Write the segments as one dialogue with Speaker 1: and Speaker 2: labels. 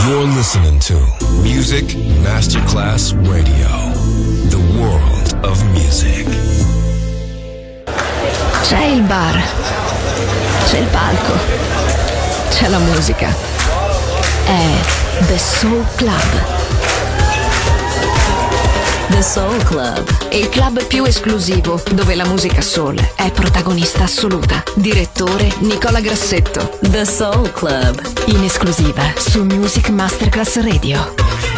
Speaker 1: You're listening to Music Masterclass Radio, the world of music.
Speaker 2: C'è il bar, c'è il palco, c'è la musica. È The Soul Club. The Soul Club, il club più esclusivo dove la musica soul è protagonista assoluta. Direttore Nicola Grassetto. The Soul Club, in esclusiva su Music Masterclass Radio.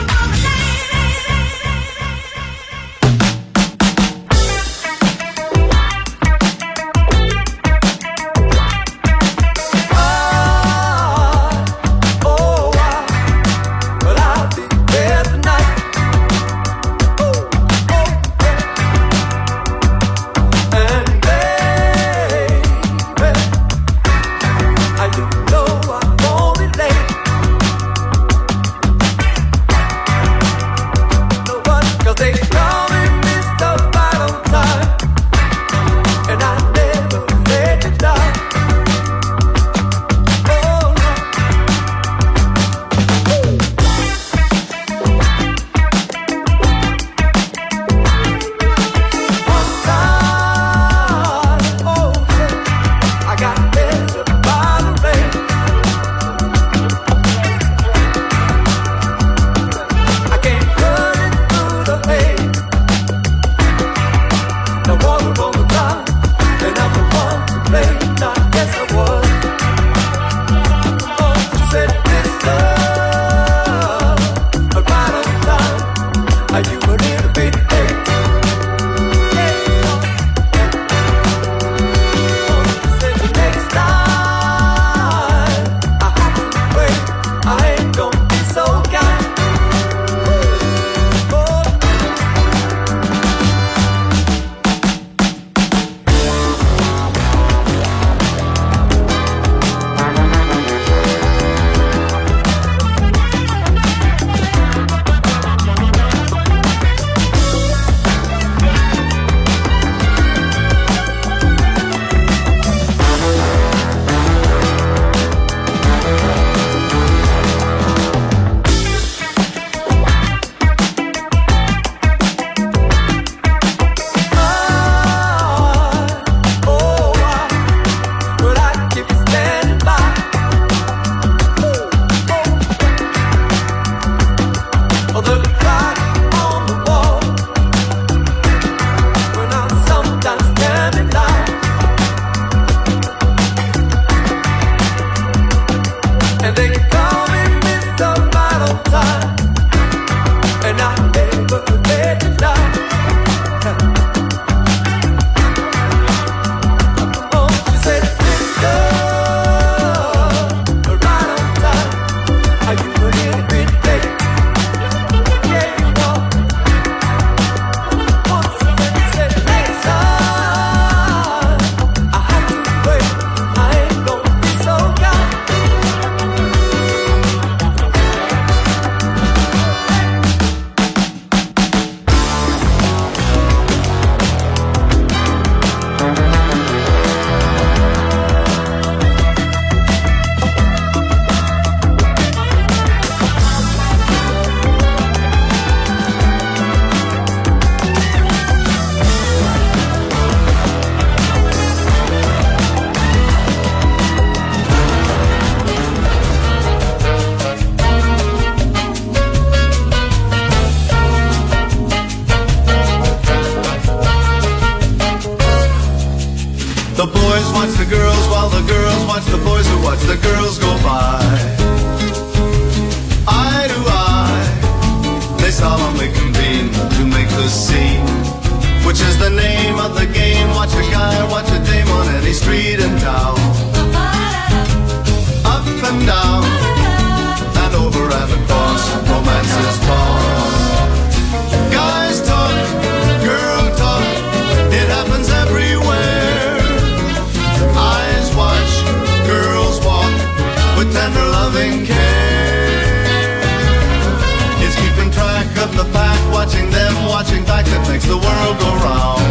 Speaker 3: Watching back that makes the world go round.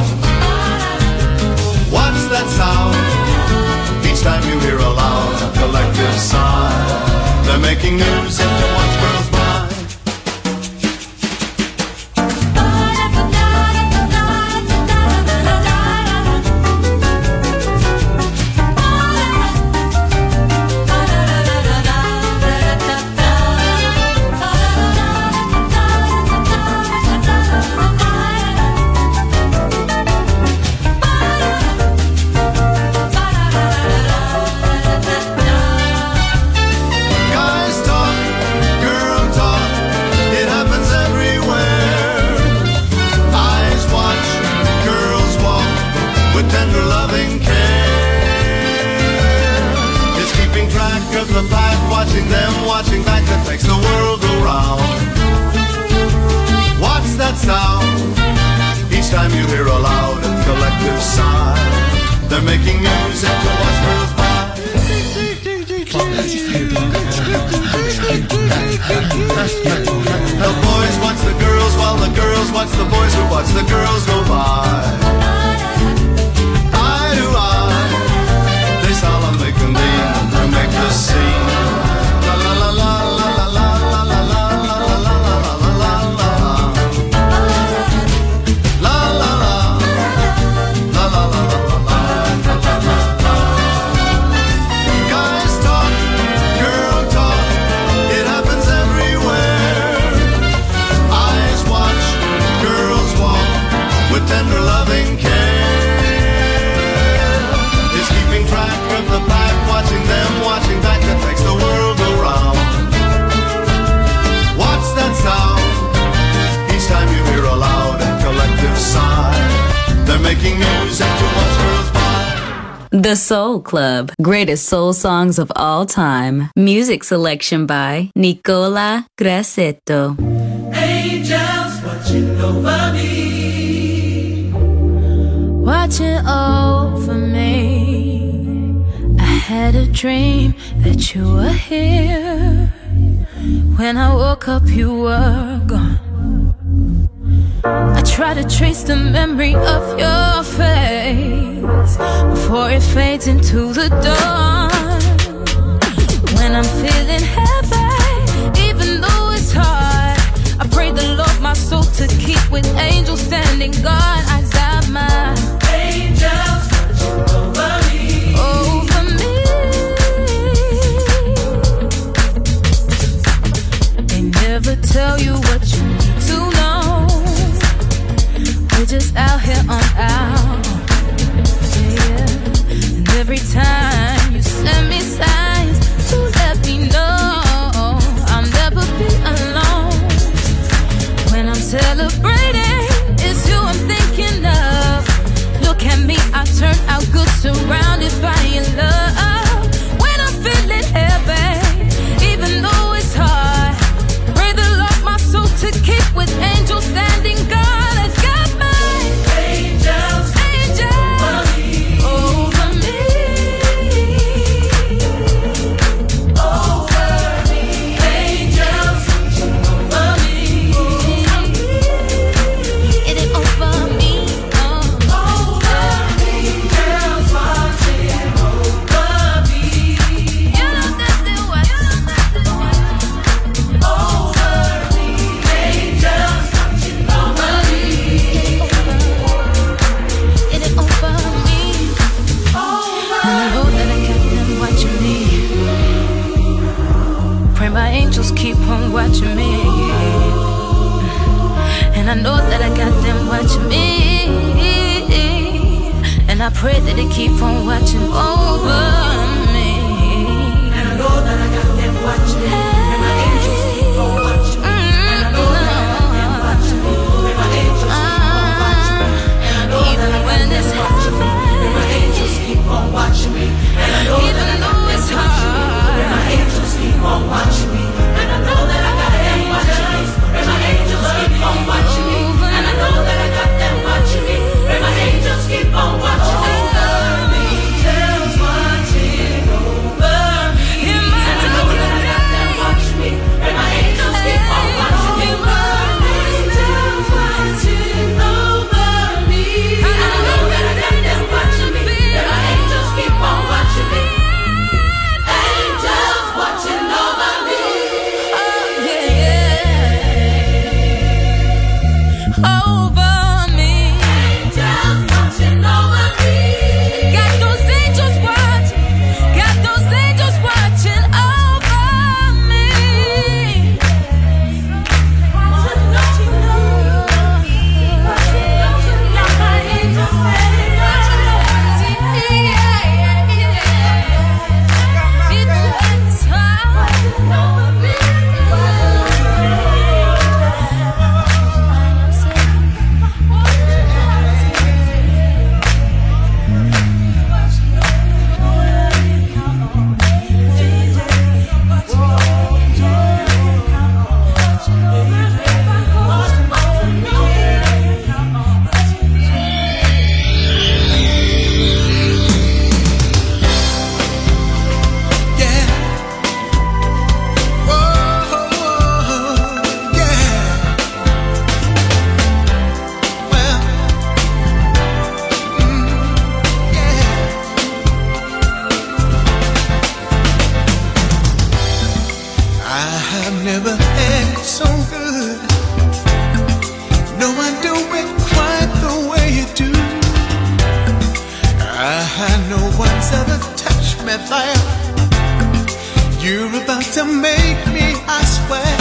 Speaker 3: What's that sound? Each time you hear a loud collective sigh, they're making news and you watch girls watching them, watching back that makes the world go round. What's that sound? Each time you hear a loud and collective sigh, they're making music to watch girls by. The boys watch the girls while the girls watch the boys who watch the girls go by. Eye to eye, they solemnly convene to make the scene. La la la la la la la la la la la la la la la. La la la la la la la. Guys talk, girl talk, it happens everywhere. Eyes watch, girls walk with tender loving care. It's keeping track of the pack, watching them, watching back that makes the world go round. What's that sound? Each time you hear a loud and collective sigh, they're making music to watch girls by.
Speaker 4: The Soul Club, greatest soul songs of all time. Music selection by Nicola Grassetto.
Speaker 5: Angels watching over me,
Speaker 6: watching over me. I had a dream that you were here. When I woke up, you were gone. I try to trace the memory of your face before it fades into the dawn. When I'm feeling heavy, even though it's hard, I pray the Lord my soul to keep with angels standing guard. I got my
Speaker 5: angels watching over me,
Speaker 6: over me. They never tell you what you need to know. We're just out here on our, yeah. And every time you send me signs to let me know I'll never be alone. When I'm celebrating, it's you I'm thinking of. Look at me, I turn out good, surrounded by your love. When I'm feeling heavy, even though it's hard, pray the Lord my soul to keep with angels standing guard. I got my
Speaker 5: angels
Speaker 6: over me,
Speaker 5: over me, angels watching over me,
Speaker 6: it ain't over me,
Speaker 5: over me, angels watching over me,
Speaker 6: you know that they watch,
Speaker 5: over me, angels watching over me,
Speaker 6: it ain't over me. And I know that I got them watching me. Pray my angels keep on watching me. And I know that I got them watching me. And I pray that they keep on watching over me.
Speaker 5: and I know that I got them watching me, and my angels keep on watching me, and I know that I got them watching me, and my angels keep on watching me, and I know
Speaker 6: Even
Speaker 5: that I
Speaker 6: when
Speaker 5: got
Speaker 6: it's
Speaker 5: them watching me, and my angels keep on watching me, and I know that
Speaker 6: even
Speaker 5: I got
Speaker 6: though
Speaker 5: them
Speaker 6: it's
Speaker 5: watching me, and my
Speaker 6: hard,
Speaker 5: angels keep on watching me, and I know that I got them watching me, and my angels keep on watching me, and I know that I got them watching me, and my angels keep on watching me, angels watching
Speaker 3: I've never had it so good. No, I do it quite the way you do. No one's ever touched me there. You're about to make me, I swear.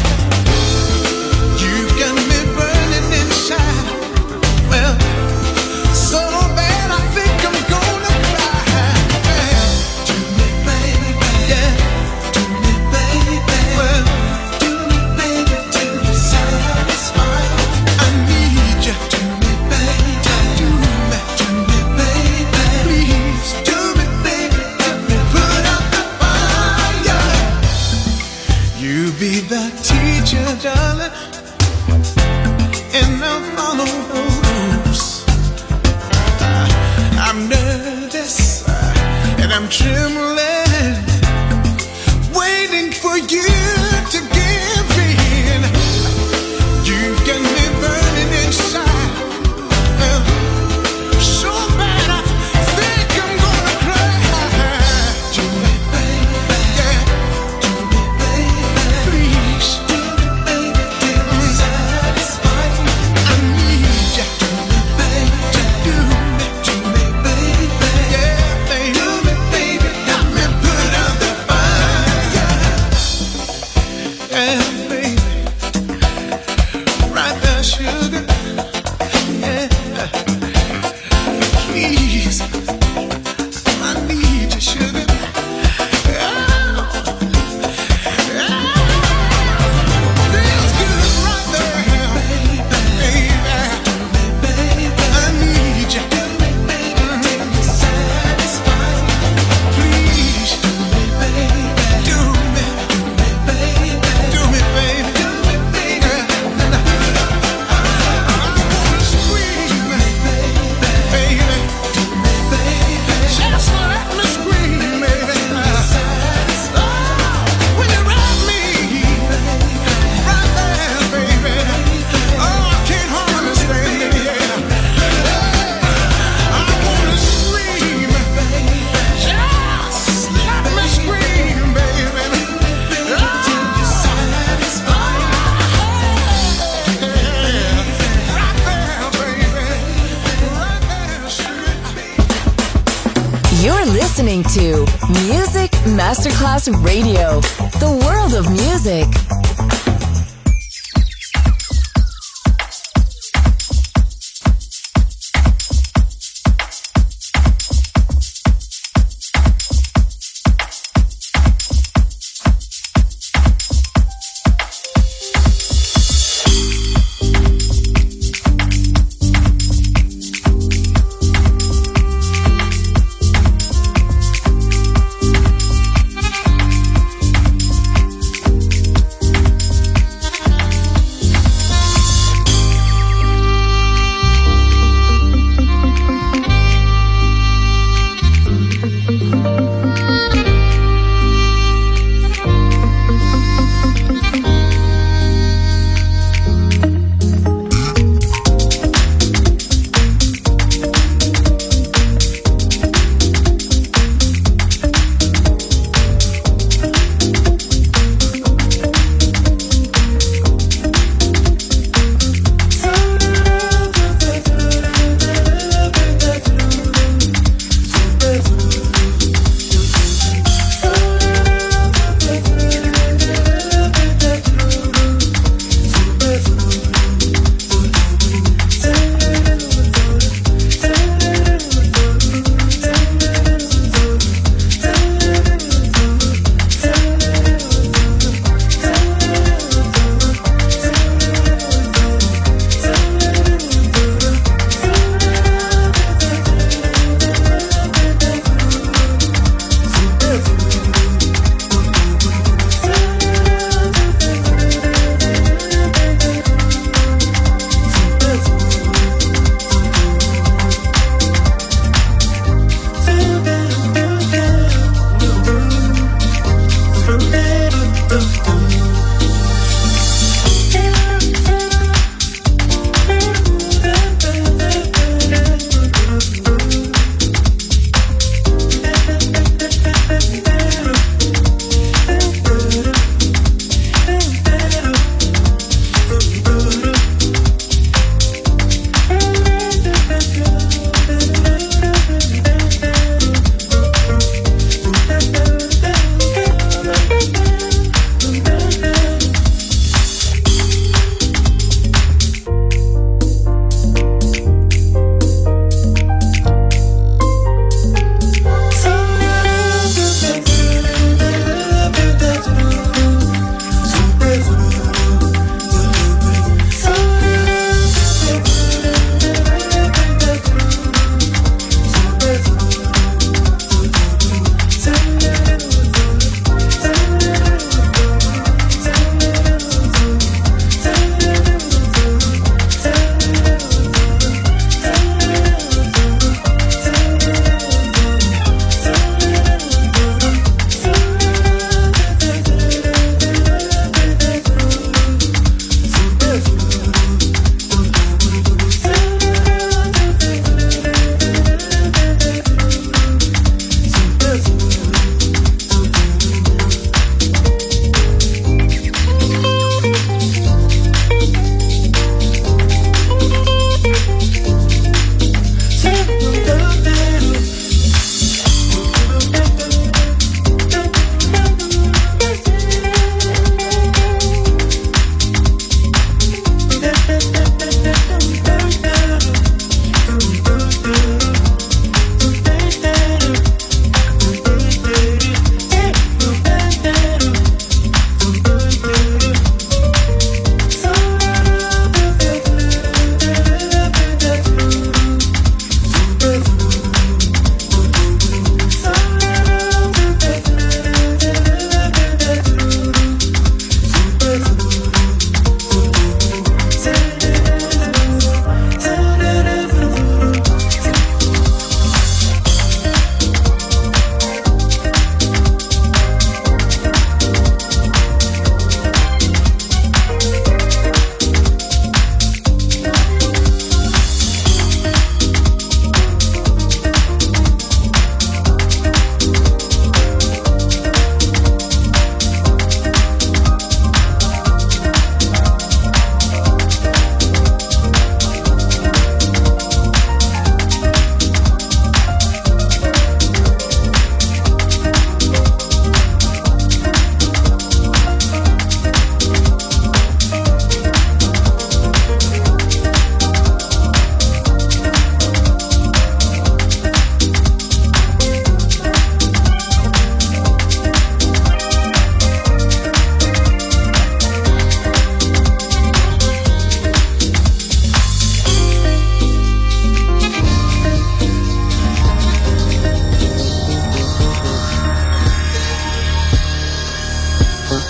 Speaker 3: You've got me burning inside. Well, so bad I think I'm gonna cry. Do me, baby, yeah. Do me, baby, well, do me, baby, till you satisfy. I need you. Do me, baby, do me, baby, please. Do me, baby, let me put out the fire. You be the teacher, darling, and I'll follow the rules. I'm nervous and I'm trembling, waiting for you to give in. You've got me burning inside. So bad I think I'm gonna cry. Do me, baby, yeah. Do me, baby, please. Do me, baby, till I'm satisfied. I need you. Do me, baby, do me, baby, yeah, baby. Do me, baby, got me put out the fire. Yeah, baby, right there, sugar. Yeah. Please, I need you, sugar. Feels good right there, baby. I need you. Satisfied. Please, do me, baby. Do me, baby. I wanna scream, baby. Just let me scream, baby. When you wrap me right there, baby. Oh, I can't hardly stand it, yeah. I wanna scream, just let me scream, baby.
Speaker 2: You're listening to Music Masterclass Radio, the world of music.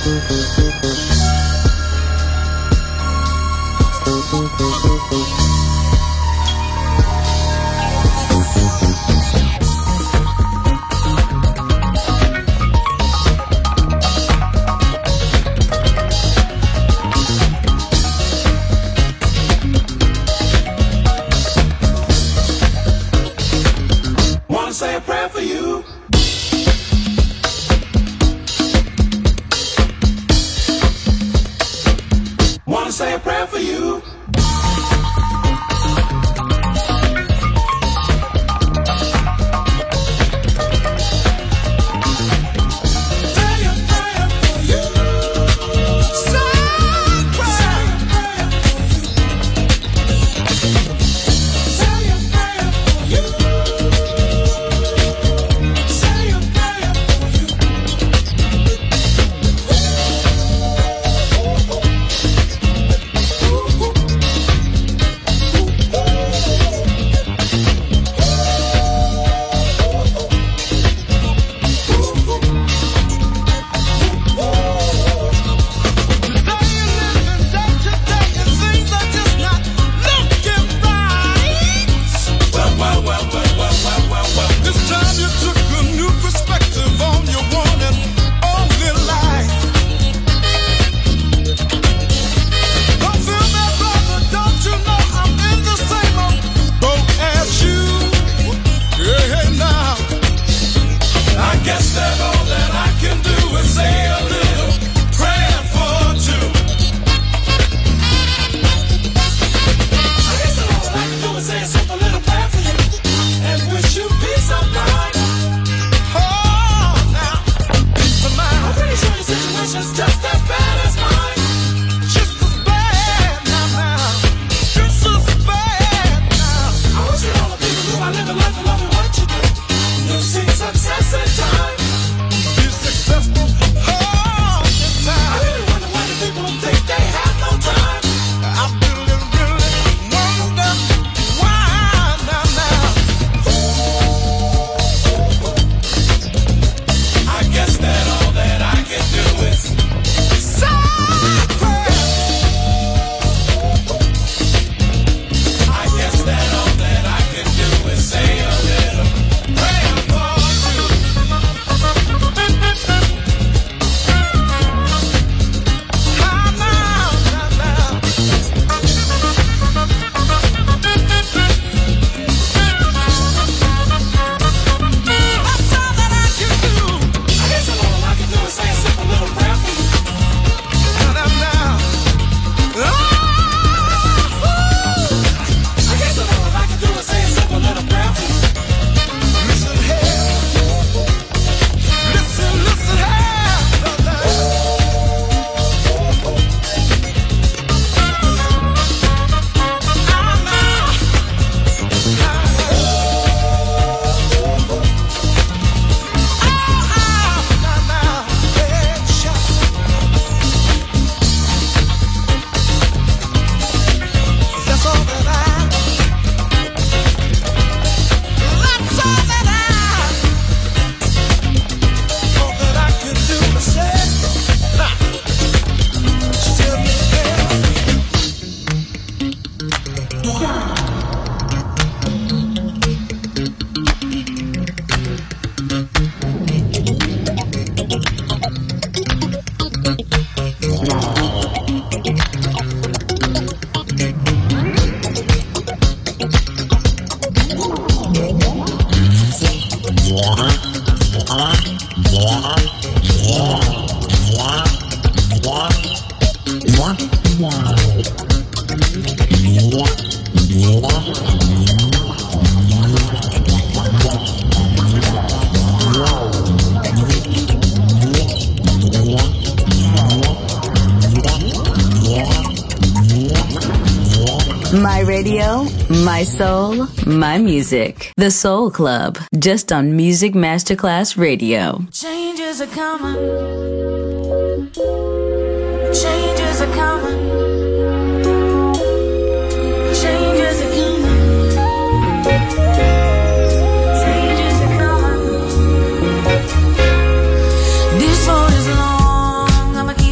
Speaker 3: Say a prayer for you. Wanna say a prayer for you.
Speaker 4: My radio, my soul, my music. The Soul Club, just on Music Masterclass Radio.
Speaker 6: Changes are coming. Changes are coming. Changes are coming. Changes are coming. This road is long. I'ma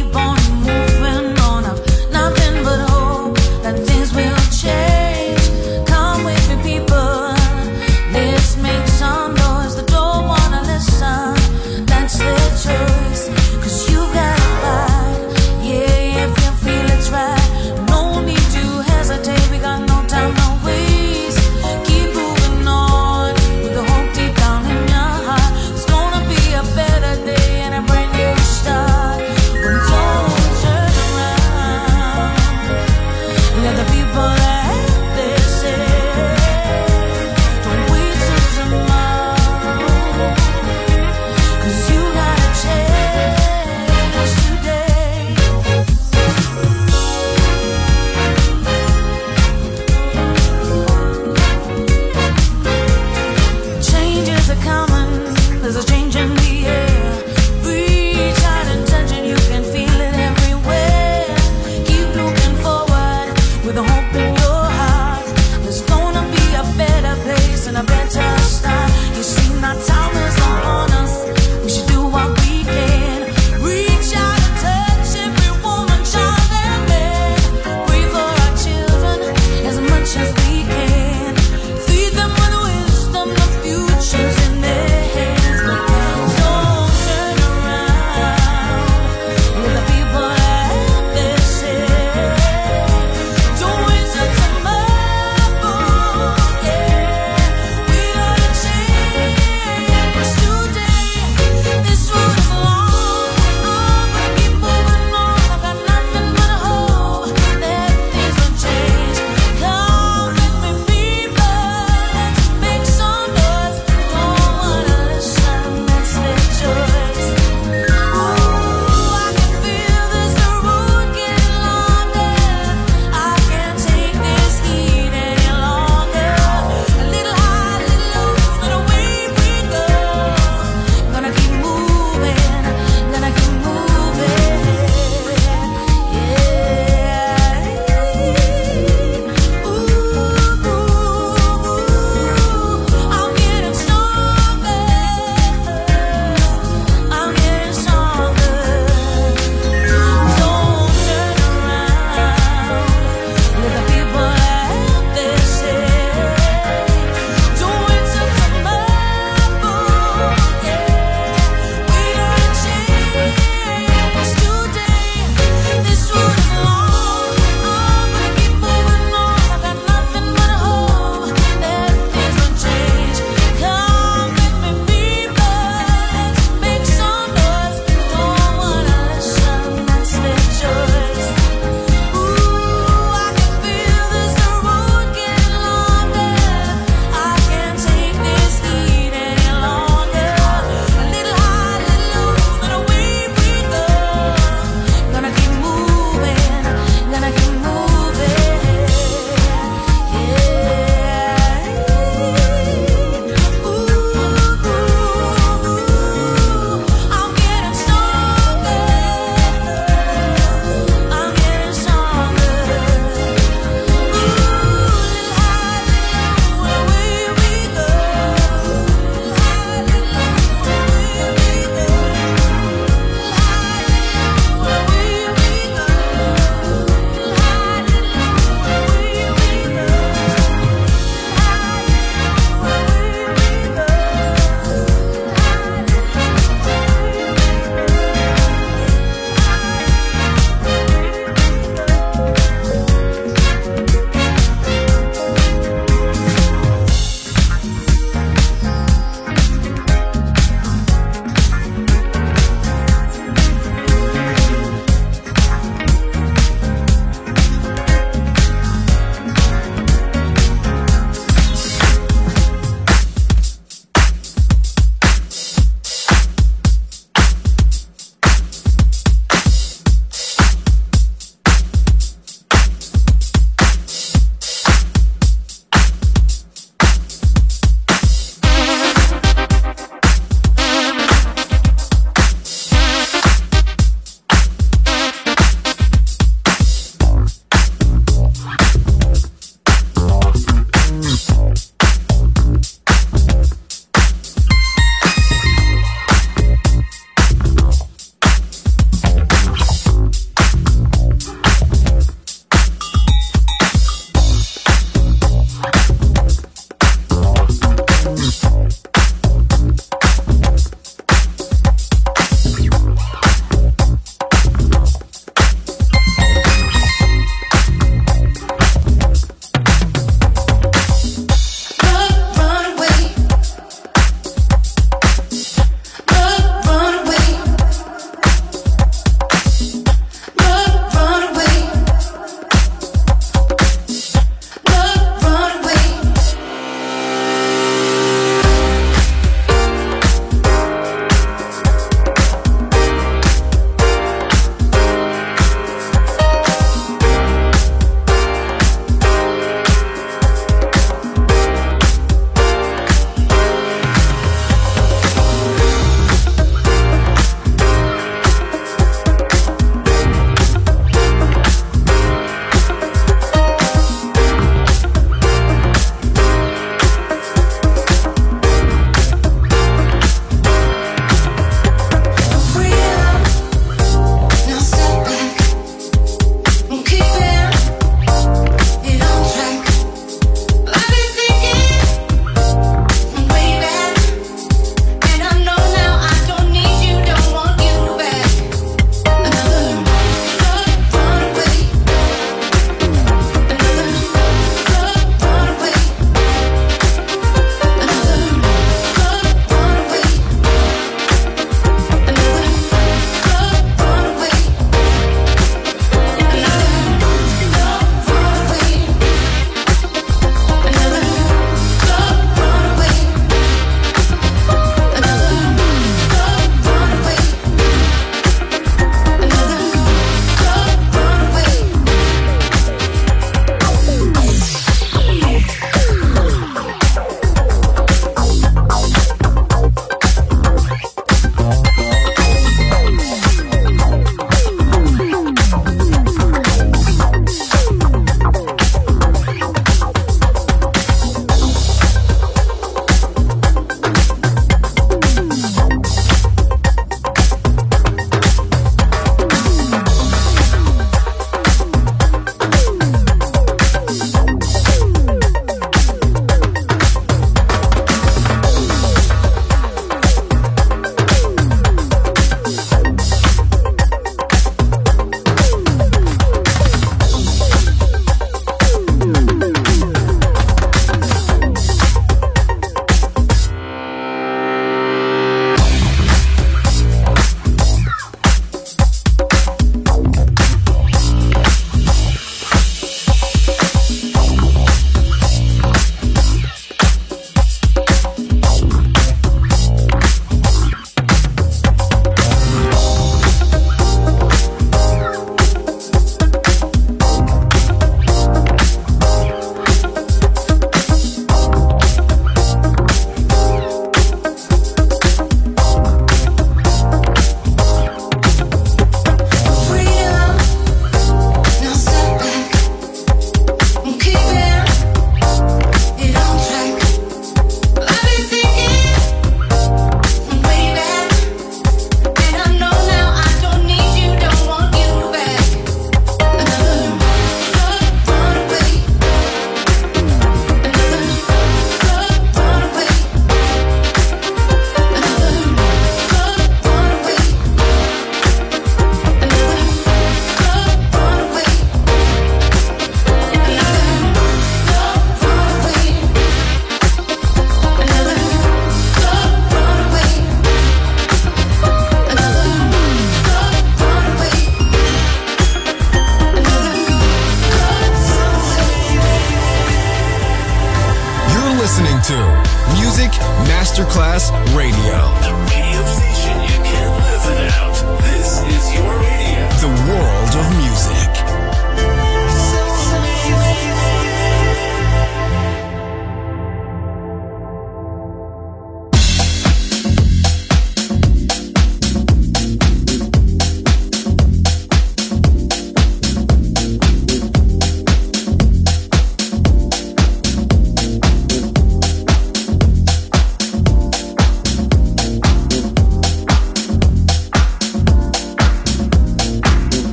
Speaker 1: Masterclass Radio.
Speaker 7: The radio station you can't live without. This is your radio.
Speaker 1: The world of music.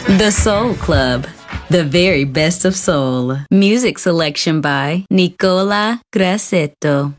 Speaker 4: The Soul Club, the very best of soul. Music selection by Nicola Grassetto.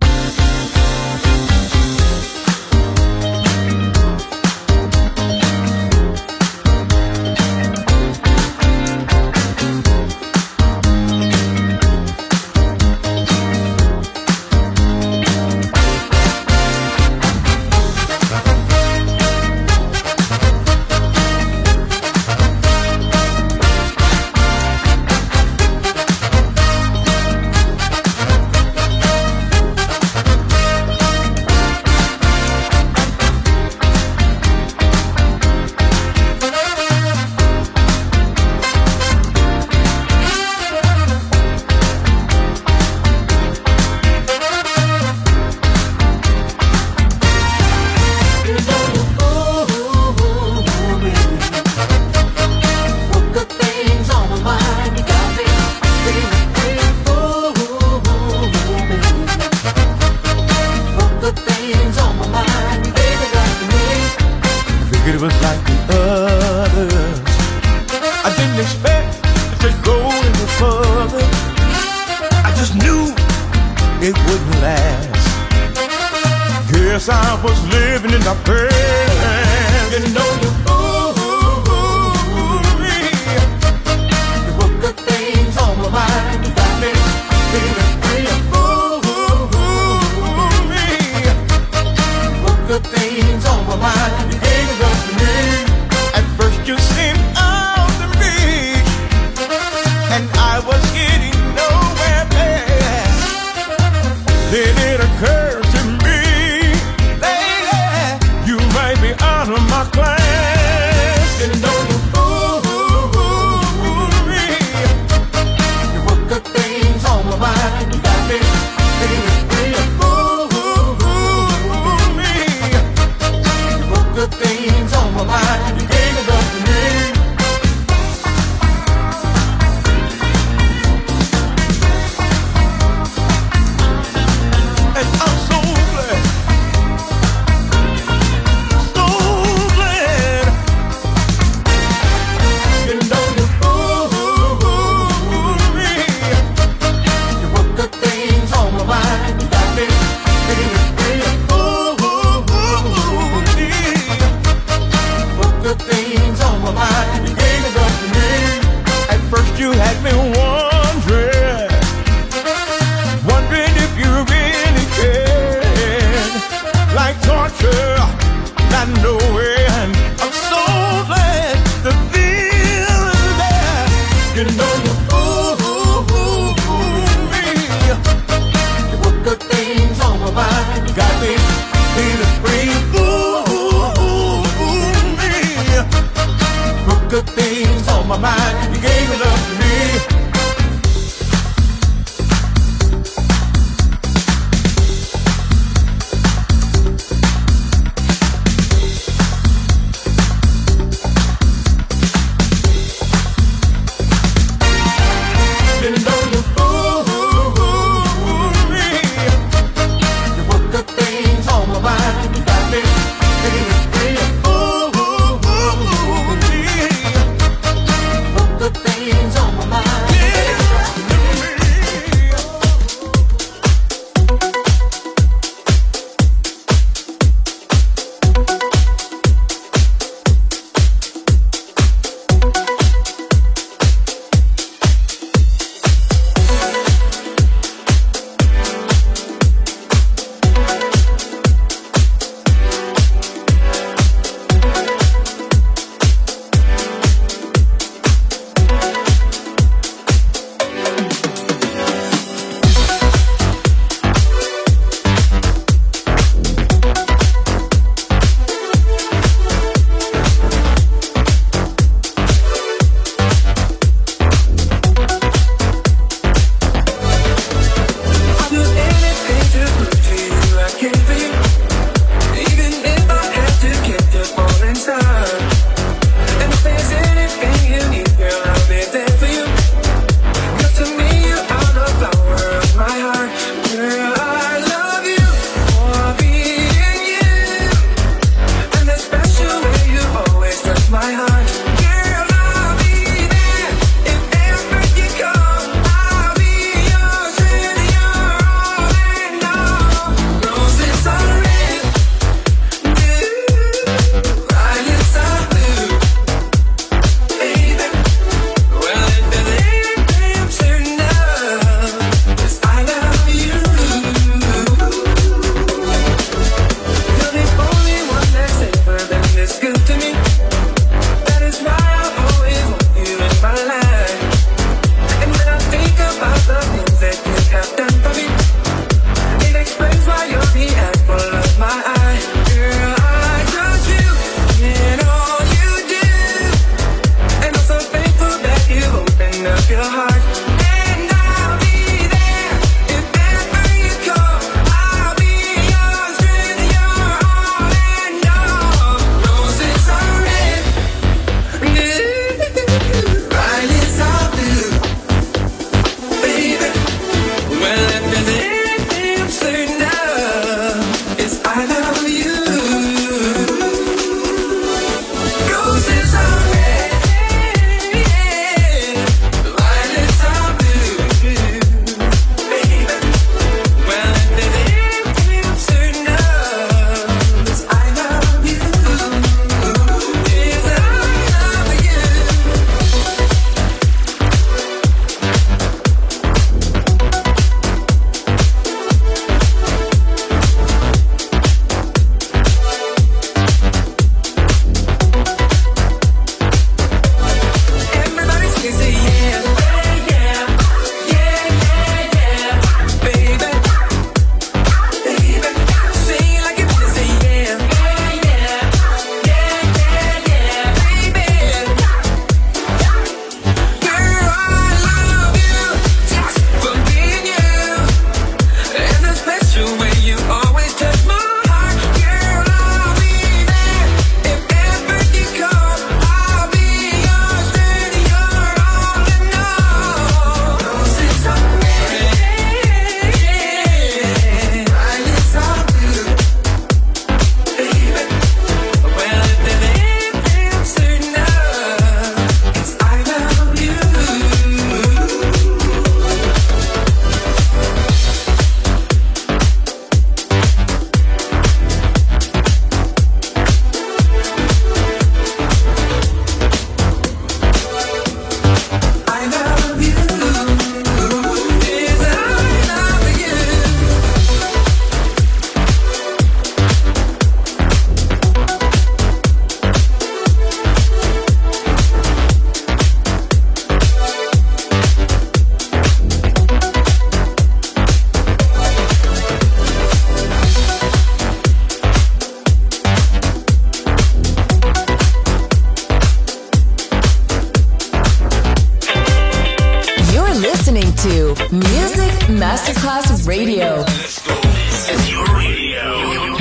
Speaker 2: listening to Music Masterclass Radio.
Speaker 7: This is your radio.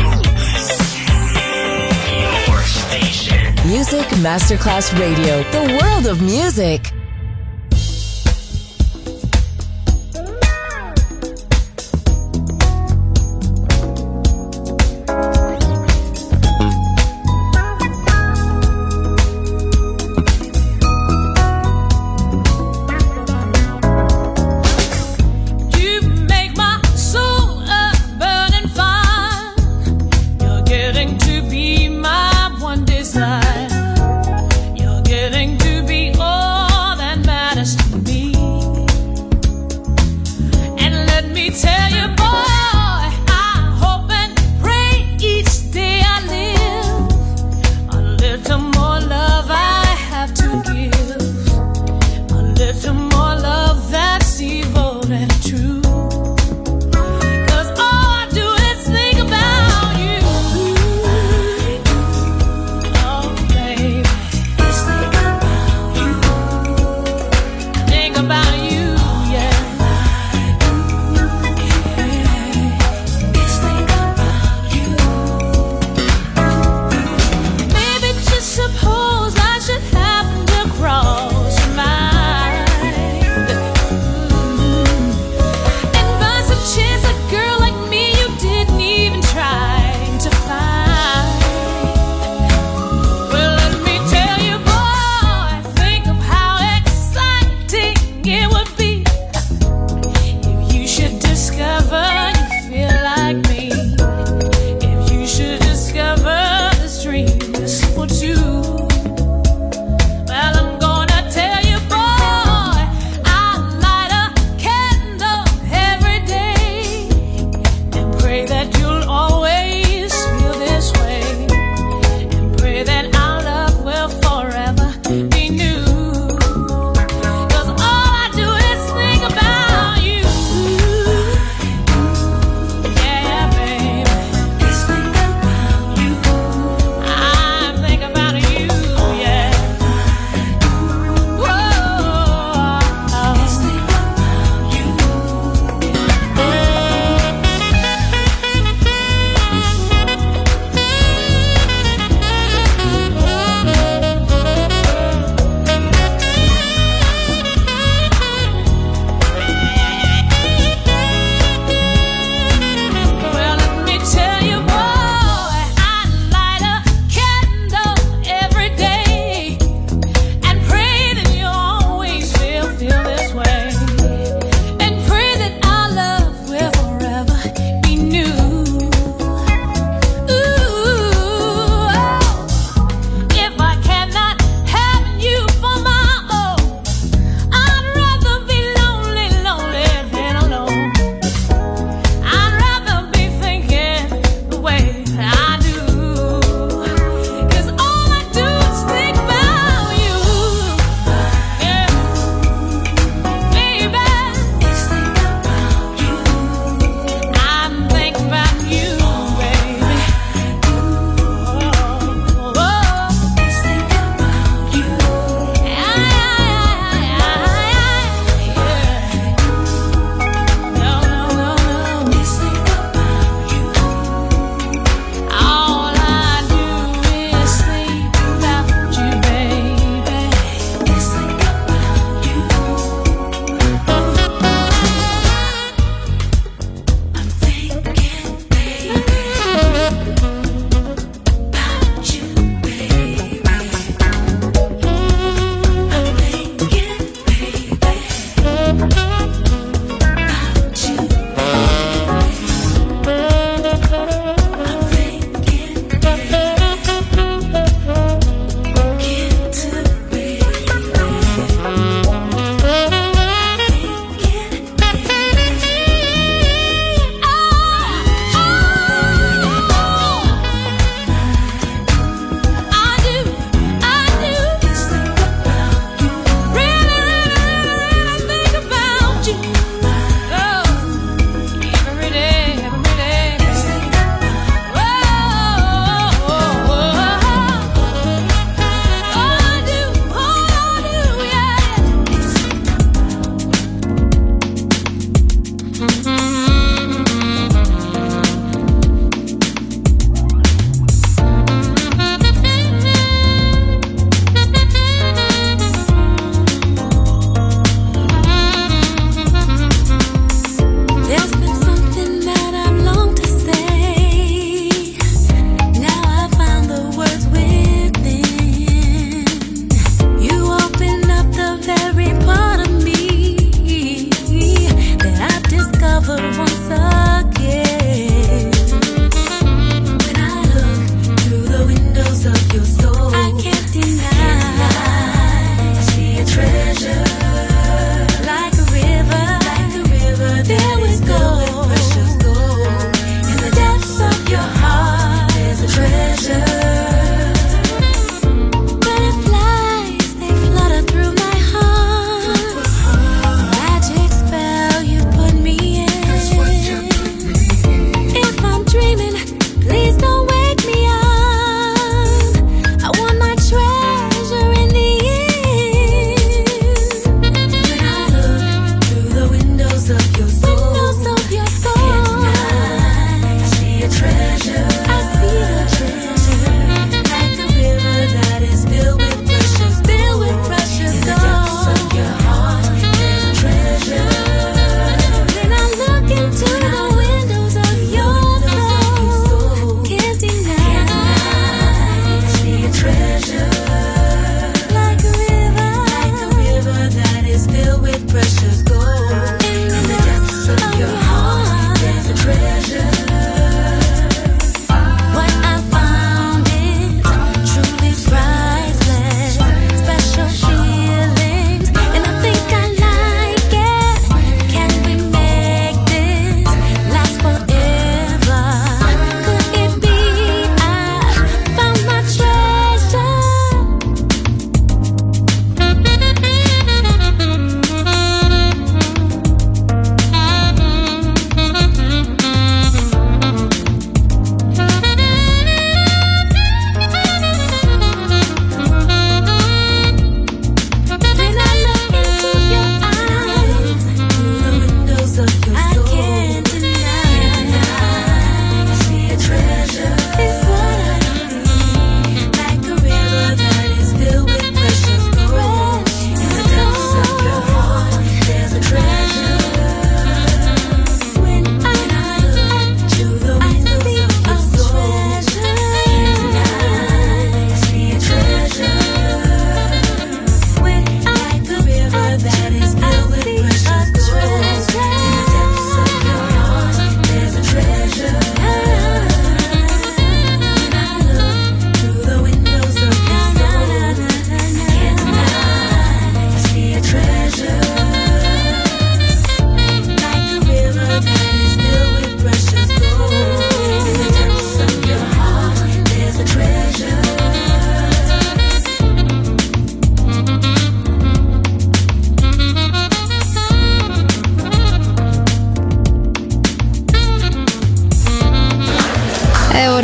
Speaker 7: Your station.
Speaker 2: Music Masterclass Radio, the world of music.
Speaker 6: You're getting to be all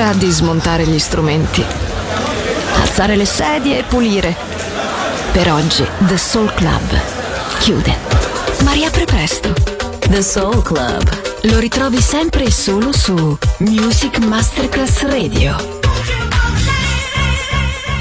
Speaker 2: ora di smontare gli strumenti, alzare le sedie e pulire. Per oggi The Soul Club chiude, ma riapre presto.
Speaker 4: The Soul Club.
Speaker 2: Lo ritrovi sempre e solo su Music Masterclass Radio.